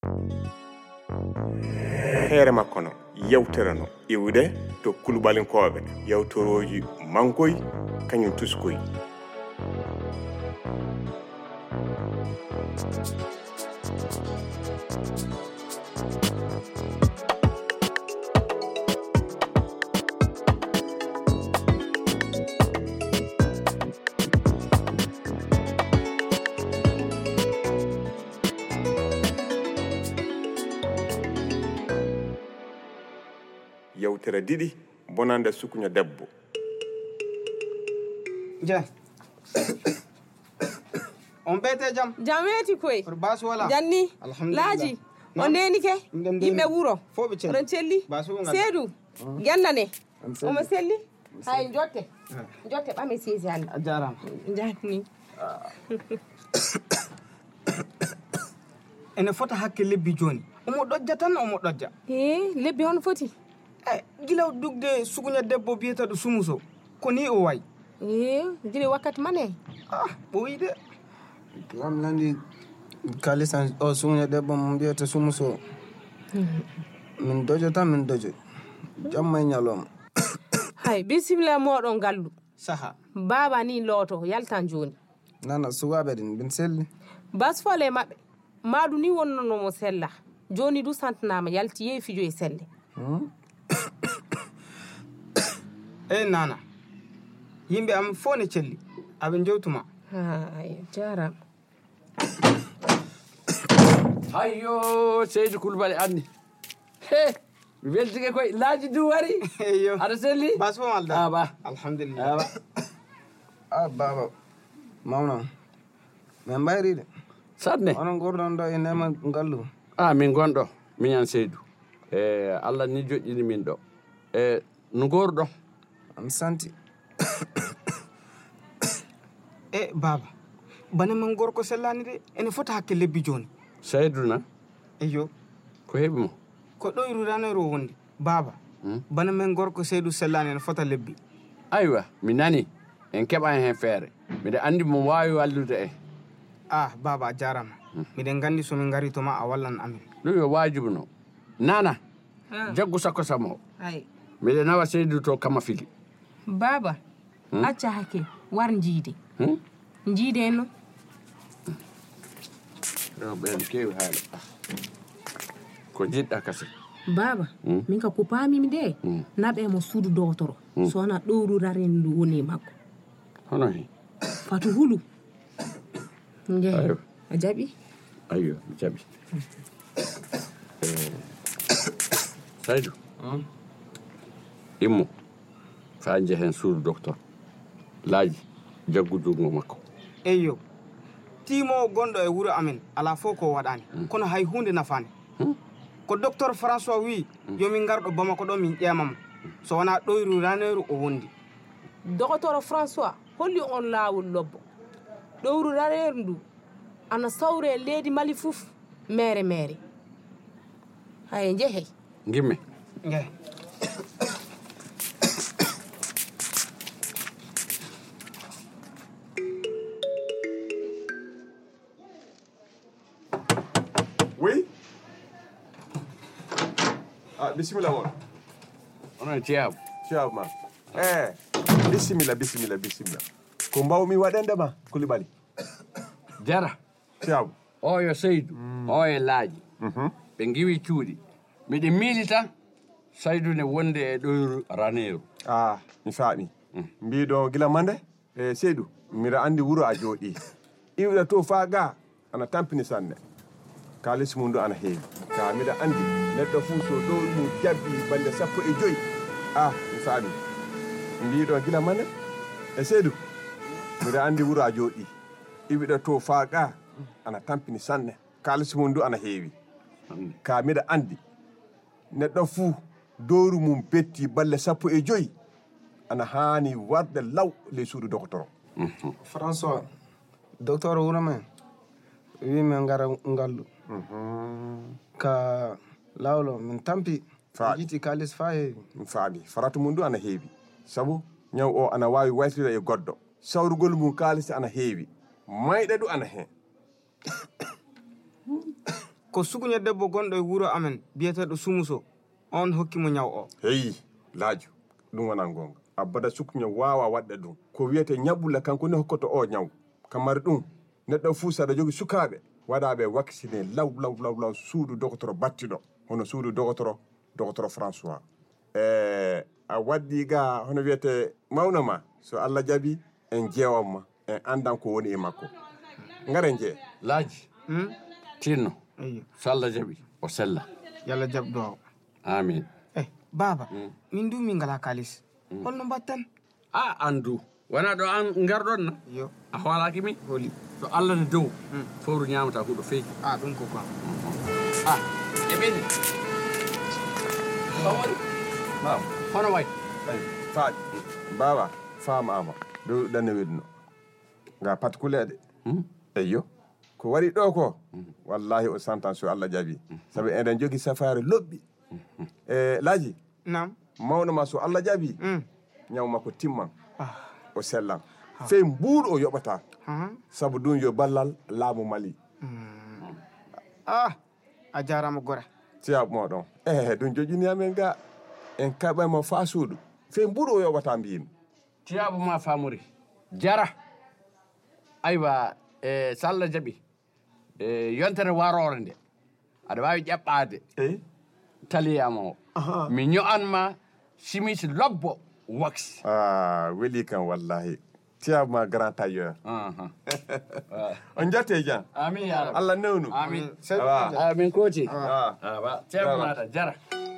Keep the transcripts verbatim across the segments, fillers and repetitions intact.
Heere makko no yewtere no iwde to Kulubalinkoɓe yewtoroji mankoy kañum tuskoy. Yewtere didi bonande sukuño debbo. Ja. On bete jam. Jam weti koy. Bas wala. Janni. Alhamdulillah. Laji. On neni ke? Yimbe wuro. Fobe cel. Ron celli. Seedu. Gendane. O ma selli. Hay jotte. Jotte bame sesi hande. Ajaram. Janni. Ene fota hakke lebbi joni. Omo dojja tan omo dojja. Eh, lebbi on foti. Eh, gila dugde sugunya debbo bieta do sumuso. Ko ni o way. Eh, gile wakkati mane. Ah, boyi de. Lam landi kalisan o sugunya debbo mo bieta sumuso. Min dojo tan min dojo. Jamma nyalom. Hay, bismillah modon gallu. Saha. Baba ni loto yaltan joni. Nana suwabe din bin selli. Bas fole mabbe. Madu ni wonno no mo sella. Joni du santnama yalti yefi jo e selle. Hmm? Eh nana. Yimbe am fone celli. Abe jewtuma. Ay, jaram. Hayyo, Seydou Koulibaly anni. He, mi weltike koy laaji du wari. Eyyo. Ada selli? Bas fo malda. Ah ba. Alhamdulillah. Ah ba. Ah baba. Mawna. Men bayride. Sadne. Onon gordon do e nema ngallu. Ah min gondo, miñan Seydou. Eh Allah ni joƴƴini min do. Eh no gordo. Am santi. Eh baba. Bana man gorko sellani de ene fota hakke lebbi joni. Seydou na. Eyyo. Ko hebi mo? Ko doyru ranero wonde. Baba. Hmm? Bana men gorko Seydou sellani ene fota lebbi. Aywa, mi nani. En keɓa hen feere. Mbiɗa andi mo wawi wallude en. Ah baba jarama. Miɗen gandi so min ngari to ma a wallan amin. Ɗum yo wajibu no. Nana. Ah. Jaggu sakko samo. Ay. Mbiɗa nawa Seydou to kama fili. Baba. Hmm? Acca hakke war jiide. Hmm? Jiide no. Yo ɓen kewi haala. Ko jiɗɗa kasi. Baba, Hmm? min ka ko paamimi de. Hmm. Naɓe mo suudu dotoro. So na ɗowru raren ndu woni makko. Hono hen. Fatu hulu. Nje. Ayo. A jaɓi? Ayyo, mi jaɓi. Eh, Saydou. Hmm? Immo. Fa jehen suudu docteur. Laaji jaggu jungo makko. Eyyo. Timo gondo e wuro amin ala fo ko wadani. Kono hay hunde nafani. Hmm? Ko docteur François wi yomin gardo Bamako do min ƴemam. So wana doyru raneru o wondi. Docteur François holli on laawol lobbo. Ɗowru rareeru ndu ana sawre leydi Mali fof mere mere. Hay jehe. Gimme. Nge. Oui. Ah, bismillah mon. Onon ciyaw. Ciao ma. Eh, bismillah bismillah bismillah. Ko mbawmi waɗende ma Koulibaly. Jara. Ciao. O yo Seydou. O e laaji. Mhm. Ɓe giwi cuuɗi. Miɗe miilita Saydou ne wonde e ɗoyru raneeru. Ah, mi faami. Mbiɗo gila mande e Seydou, mbiɗa andi wuro a jooɗi. Iwɗa to faa ga ana tampini sanne. Kalis mum ndu ana heewi. Ka mbiɗa andi neɗɗo fuu so ɗo mum jabbi balɗe sappo e joyi. Ah, mi faami. Mbiɗo gila mande e Seydou, mbiɗa andi wuro a jooɗi. Iwɗa to faa ga ana tampini sanne. Kalis mum ndu ana heewi. Ka mbiɗa andi neɗɗo fuu dowru mum betti balle sappo e joyi ana haani warde law ley suudu docteur. François, docteur wuro men wi men ngara ngallu. Ka lawlo min tampi Faami. jiti kalis fa heewi. Mi faami faratu mum ndu ana heewi sabu ñaw o ana waawi waytide e goɗɗo sawrugol mum kaalisi ana heewi mayɗe ɗu ana heen. ko sukuña debbo gonɗo e wuro amen biyeteɗo Sumuso on hokkimo ñaw o. heyi laaju ɗum wona gonga abbada sukuña wawa waɗɗe ɗum ko wiyete ñaɓɓulla kanko ni hokkoto o ñaw kamari ɗum neɗɗo fuu saɗa jogui sukaɓe waɗaɓe vacciné law law law law suudu doctoro battiɗo hono suudu doctoro doctoro François e a waddi ga hono wiyete mawno ma so Allah jaaɓi en jeewamma en andan ko woni e makko ngare jee laaji hmm? tinno Eyyo. so Allah jaɓi o sella yalla jaɓ duwaw. amin eh baba min du min ngala kalis holno mbatten a andu wona ɗo an garɗon na yo a hoolaki min holi so Allah ne dow fowru ñamata huuɗo feeki a ɗum ko quoi a e ɓeni bawoni mam hono way faaƴ mbawa faamama dow ɗanne wedduno nga patkuleɗe eyyo ko wari ɗo ko wallahi o santan so Allah jaaɓi saabu eɗen jogui safare lobɓi e laaji nam mawno ma so Allah jaaɓi mm. ñaw makko timman ah. o sellan fey mbuuɗo o yoɓata uh-huh. saabu ɗum yo ballal laamu Mali mm. ah a jarama gora tiyaɓe moɗon e ɗum joƴini amen ga en kaɓamo fa suudu fey mbuuɗo o yoɓata mbiyimi tiyaɓo ma famori jara aywa e so Allah jaɓi e yontere warore nde aɗa wawi ƴeɓɓade eyi taliyama o mi ño'anma simis lobbo wax ah weeli kan wallahi tiyaɓe ma grand tailleur on jette jan amin ya rabbi Allah newnu amin awa amin koti ah awa tiyaɓo mata jara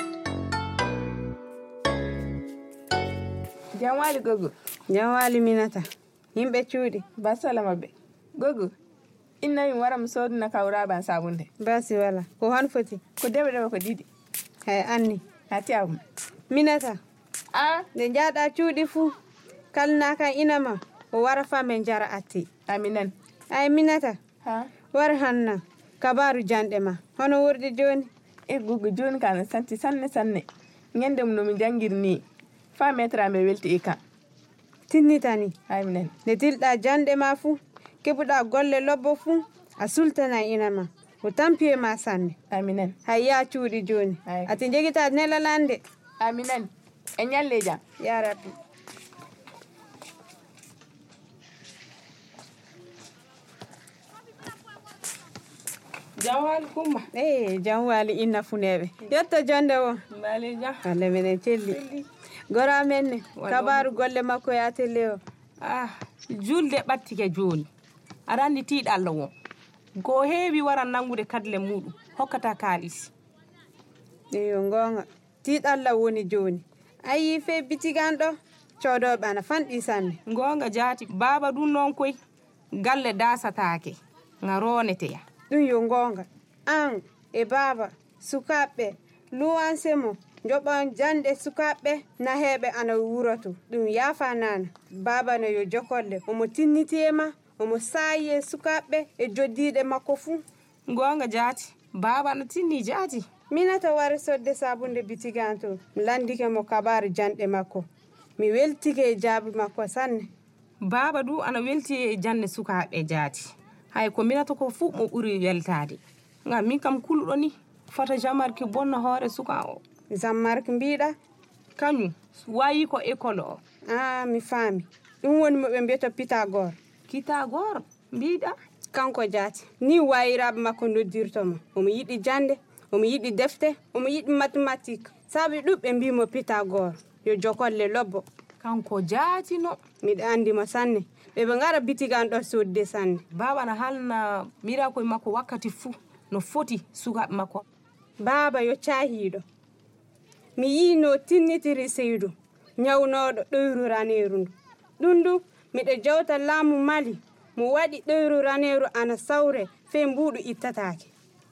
jam wali gogo jam wali minata yimɓe cuuɗi basalama ɓe gogo inna min wara mi soduna kawraban sabunde basi wala ko hon foti ko deɓe ɗeɓe ko ɗiɗi hay anni ha tiyawum minata a nde jaaɗa cuuɗi fuu kalnaka inama o wara famen jara atti aminan ay minata ha war hanna kabaru janɗe ma hono wurdi joni e gogo joni kana santi sanne sanne ñande mum nomi jangirni fa metra me welti e kan tinnitani ayinen nde tilɗa janɗe ma fuu keɓuɗa golle lobbo fuu a sultana inama o tampi e ma sanne aminen hay ya cuuɗi joni ati jegita nelalande aminen e ñalle jam ya rabbi jam wali kumma e jam wali inna funeɓe yetta jonde o mbali jam alle minen celli gora men ne kabaru golle makko ya telle o ah julde ɓattike joni aɗa andi tiiɗa Allah won go heewi wara nangude kadle muɗum hokkata kaalis eyo gonga tiiɗa Allah woni joni ayi fe bitigan ɗo codoɓe ana fanɗi sanne gonga jaati baba ɗum noon koy galle dasatake nga roneteya ɗum yo gonga an e baba sukaɓɓe luwansemo joɓon jande sukaɓɓe naheɓe ana wuroto ɗum yafa nana baba no yo jokolle omo tinnitiyema omo saayi e sukaɓɓe e joddiɗe makko fuu gonga jaati baba no tinni jaati minata wari sodde sabunde bitigan to mi landike mo kabaru janɗe makko mi weltike e jaabi makko sanne baba du ana welti e jande sukaɓe jaati hay ko minata ko fuu mo ɓuri weltade ngam min kam kulɗo ni fota jamarki bonna hoore suka o jammarki mbiɗa kañum wayi ko école o ah mi faami ɗum woni moɓe mbiyata pitagore kitagore mbiɗa kanko jaati ni wayiraɓe makko noddirtomo omo yiɗi jande omo yiɗi defte omo yiɗi mathématique saabi ɗuɓɓe mbimo pitagore yo jokolle lobbo kanko jaatino miɗa andimo sanne ɓeɓe ngara bitigan ɗo sodde sanne baba na halna mirakoye makko wakkati fuu no foti sukaɓe makko baba yo cahiɗo mi yino tinnitiri seydou ñawnoɗo ɗoyru raneru ndu ɗum ndu miɗo jewta laamu Mali mo waɗi ɗoyru raneru ana sawre fe mbuɗu ittatake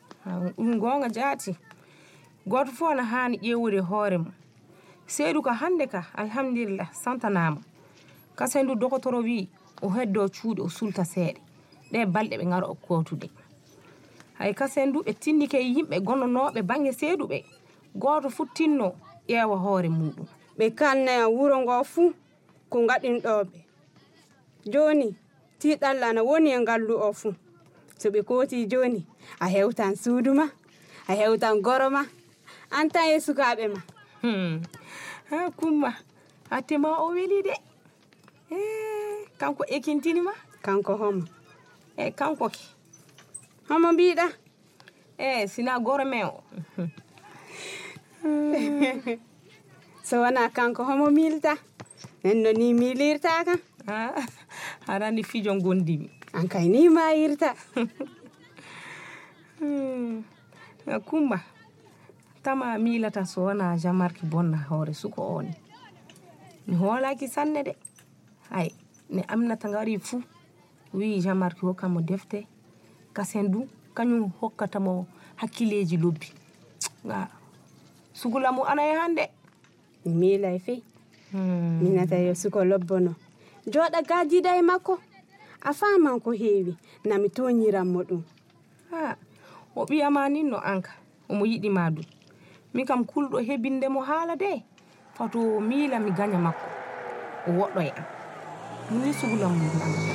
ɗum gonga jaati goto fof ana hani ƴewude hoore mum seydou ko hande ka alhamdulillah santanama kasendu dokotoro wi o heddo cuuɗi o sulta seeɗe ɗe balɗe ɓe ngara o kotude hay kasendu ɓe tinnike yimɓe gonnonoɓe bange seydou ɓe goto fu tinno ƴeewa hoore muɗum ɓe kalnaya wuro ngo fuu ko gaɗinɗoɓe joni tiɗalla na woni e ngallu o fuu so ɓe kooti joni a hewtan suudu ma a hewtan goro ma an tan e sukaaɓe ma. Hmm. Ha Kumba attema o weli de. Eh kanko ekintini ma? Kanko homo. Eh kanko ki. Homo mbiɗa? Eh sina goro me o. So wona kanko homo milta. Nenno ni milirta kan. Ah harani fijo gondimi. An kay ni ma yirta. Hmm. Kumba tama milata so wona Jean-Marc bonna hoore suko oni. Mi hoolaki sanne de. Hay ne Aminata ngari fu wi Jean-Marc hokkamo defte kasendu kanyum hokkata mo hakkileji lobbi. Nga sugulamu ana e hande. Mi milay fe. Hmm. Minata yo suko lobbono. Joda gajida e makko. A faman ko heewi na mi toñiran mo ɗum. Ha o ɓiyama nin no anka omo yiɗi ma ɗum min kam kulɗo heɓinde mo haala de fato miila mi gaña makko o woɗɗo e am ni sugulam mum anka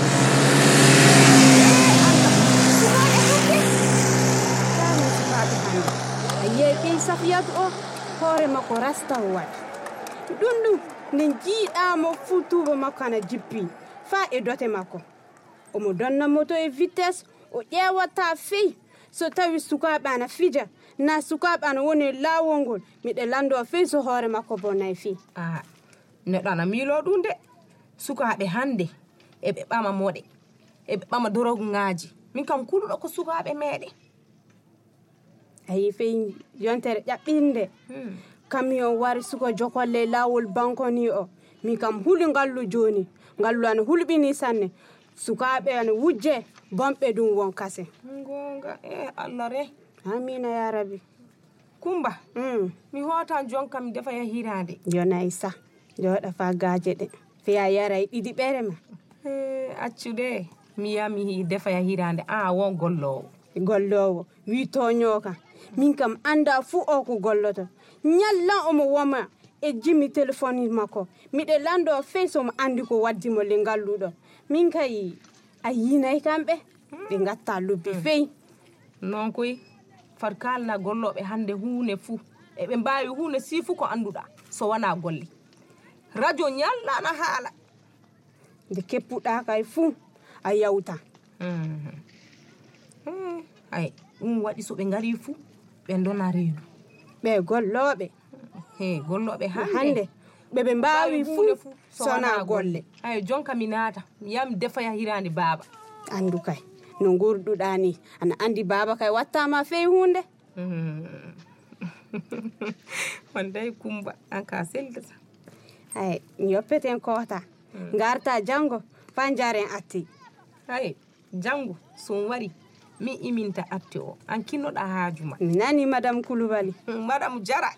a yeeɓi Safiyatu o hoore makko rasta o waɗi ɗum ɗum nden jiiɗamo fuu tuuba makko ana jippi faa e dote makko omo donna moto e vitesse o ƴeewata fey so tawi sukaaɓe ana fija na sukaaɓe ana woni laawol ngol miɗe lando fey so hoore makko bonnayi fey. Ah neɗɗo ana miilo ɗum de sukaaɓe hannde eɓe ɓama moɗe eɓe ɓama dorogaji min kam kulɗo ko sukaaɓe meɗen. ayi fey yontere ƴaɓɓinde hmm. camion wari suko jokolle laawol bankoni o min kam huli ngallu joni ngallu ana hulɓini sanne sukaaɓe ana wujje bomɓe ɗum won kase. Gonga e Allah re. Amina ya rabbi. Kumba mm. mi hotan jonka mi defa ya hirande. Jonayi sa joɗa fa gaaje ɗe fiya yara e ɗiɗi ɓere ma. Eh accude mi ya mi defa ya hirande a won gollowo. Gollowo wi toño kan min kam anda fu o ko golloto ñallan omo woma e jimmi téléphone makko miɗe lando fey somo andi ko waddi mo le ngalluɗo min kay a yinayi kamɓe ɓe gatta lobbi fey non koy far kalna golloɓe hande hunde fuu eɓe mbawi hunde si fuu ko anduɗa so wona golle radio ñallana haala nde keppuɗa kay fuu a yawta ay ɗum waɗi so ɓe ngari fuu ɓe dona reedu ɓe golloɓe he golloɓe hande ɓeɓe mbawi fuu sona golle ay jonka mi naata mi yami defaya hirande baba andu kay no gurduɗa ni ana andi baba kay wattama fey hunde wonday Kumba an ka seldata ay yoppeten kota garta jango fan jaren atti ay jango son wari mi iminta atti o an kinnoɗa haajuma mi nani madame Coulibaly madame Jara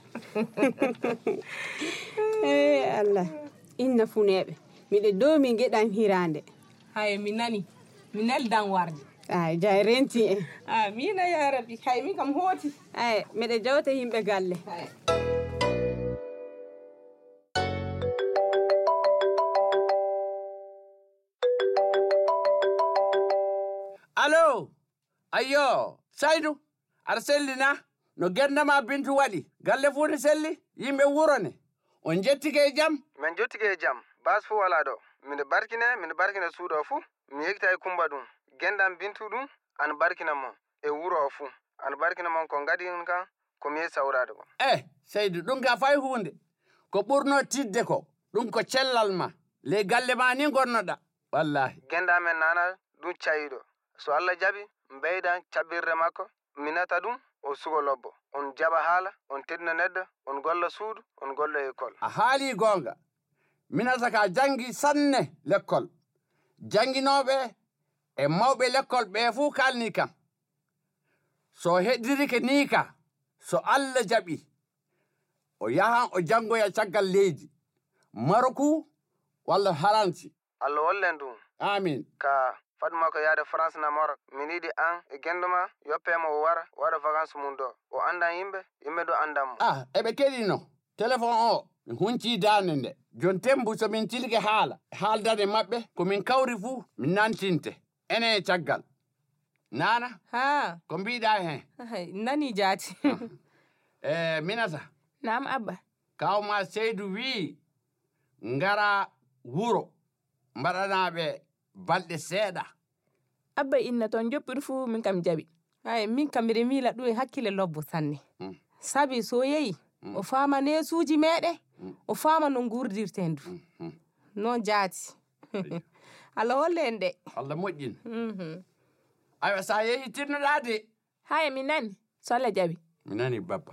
eh Allah inna funeɓe miɗe dow mi geɗan hirande hay mi nani mi neldan warde ay jay renti en amina ya rabbi hay mi kam hooti ay miɗe jawta yimɓe galle allo ayyo Saydou aɗa sellina no gendama Bintu waɗi galle fuu ne selli yimɓe wurone on jettike e jaam min jettike e jaam bas fuu wala ɗo mine barkine mine barkina suuɗo fuu mi yekta e Kumba ɗum gendam Bintu ɗum ana barkina mon e wuro o fuu ana barkina mon ko gadi on kan komi yehi sawrade ko eh Saydou ɗum ka fay hunde ko ɓurno tidde ko ɗum ko cellal ma le galle ma ni gonnoɗa wallahi gendamen nana ɗum cayiɗo so Allah jaɓi mbeydan caɓɓirde makko minata ɗum o sugo lobbo on jaɓa haala on teddina neɗɗo on golla suudu on golla école a haali gonga minata ka jangi sanne l'école janginoɓe e mawɓe l'école ɓe fuu kalni kam so heɗirike ni ka so Allah jaɓi o yahan o jangoya caggal leydi Maroku walla Haransi Allah wallen ɗum amin ka fadma ko yaade France na Maroc min yiɗi an e genduma yoppemo o wara waɗa vacance mum ɗo o andan yimɓe yimɓe ɗo andanmo ah eɓe keɗino téléphone o mi hunci dande nde jon tembu somin tilke haala haaldade maɓɓe komin kawri fuu min nantinte ene e caggal nana ha ko mbiɗa hen Hay, nani jaati e minata nam abba kawma Seydou wi ngara wuro mbaɗanaɓe balɗe seeɗa abba inna toon joɓɓiɗo fuu min kam jaɓi ay min kam mbiɗa miila ɗum e hakkille lobbo sanne Mm. sabi so yehi o faama nesuuji meɗen o faama no gurdirten du Mm. noon jaati Allah holle en de Allah moƴƴin Mhm. aywa sa yehi tirnoɗa de hay mi nani so Allah jaɓi mi nani babba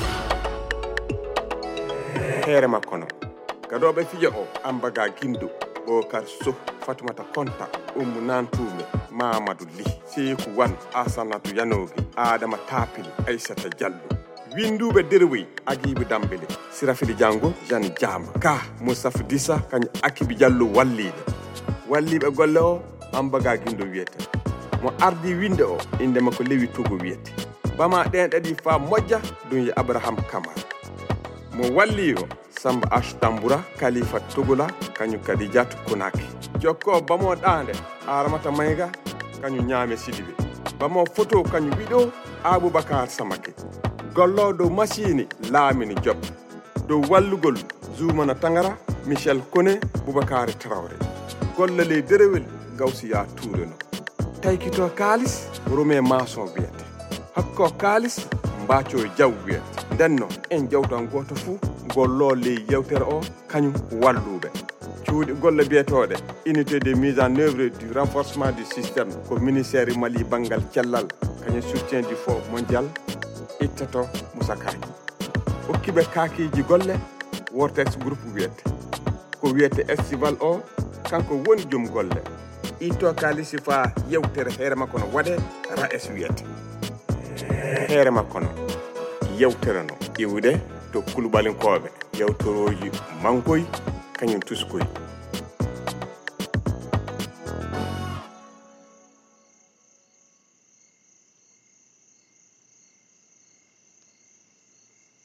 heere makko no gaɗoɓe fijo o ambaga guindo Bokar Sow Fatumata Konta Ummu Nantume Mamadou Ly Seeku Wan Asanatu Yanogi Adama Tapili Aissata Diallo winduɓe derwoyi Aguibe Dambele Sirafili Diango Jeanne Diama ka Moustapha Dissa kañum Akibi Diallo walliɓe walliɓe golle o ambaga guindo wiyete mo ardi winde o inde makko Lewi Togo wiyete bama ɗen ɗaɗi fa moƴƴa ɗum ye Abraham Kamara mo walli o Samba Ash Tamboura Khalifa Togola kañum kadi Diatou Konaki jokko bamo ɗande Aramata Mayga kañum Ñaame Sidibe bamo photo kañum wiɗo Aboubacar Samake gollo dow machine Lamine Diop dow wallugol Zoumana Tangara Michel Koné Boubacar Traoré golle ley derewel Gawsiya Touré no taykito kalis Romain Masson wiyete hakko kalis Mbathio Diaw wiyete ndenno en jawtan goto fuu gollo ley yewtere o kañum walluɓe cuuɗi golle biyetoɗe unité de mise en œuvre du renforcement du système ko ministère Mali bangal cellal kañum soutien du fonds mondial ittato Moussa Kaki hokkiɓe kakiji golle Vortex groupe wiyete ko wiyete estival o kanko woni joom golle itto kalisi fa yewtere heere makko no waɗe ra es wiyete heere makko no yewtere no iwde to kulubalinkoɓe yewtoroji mankoy kañum tuskoy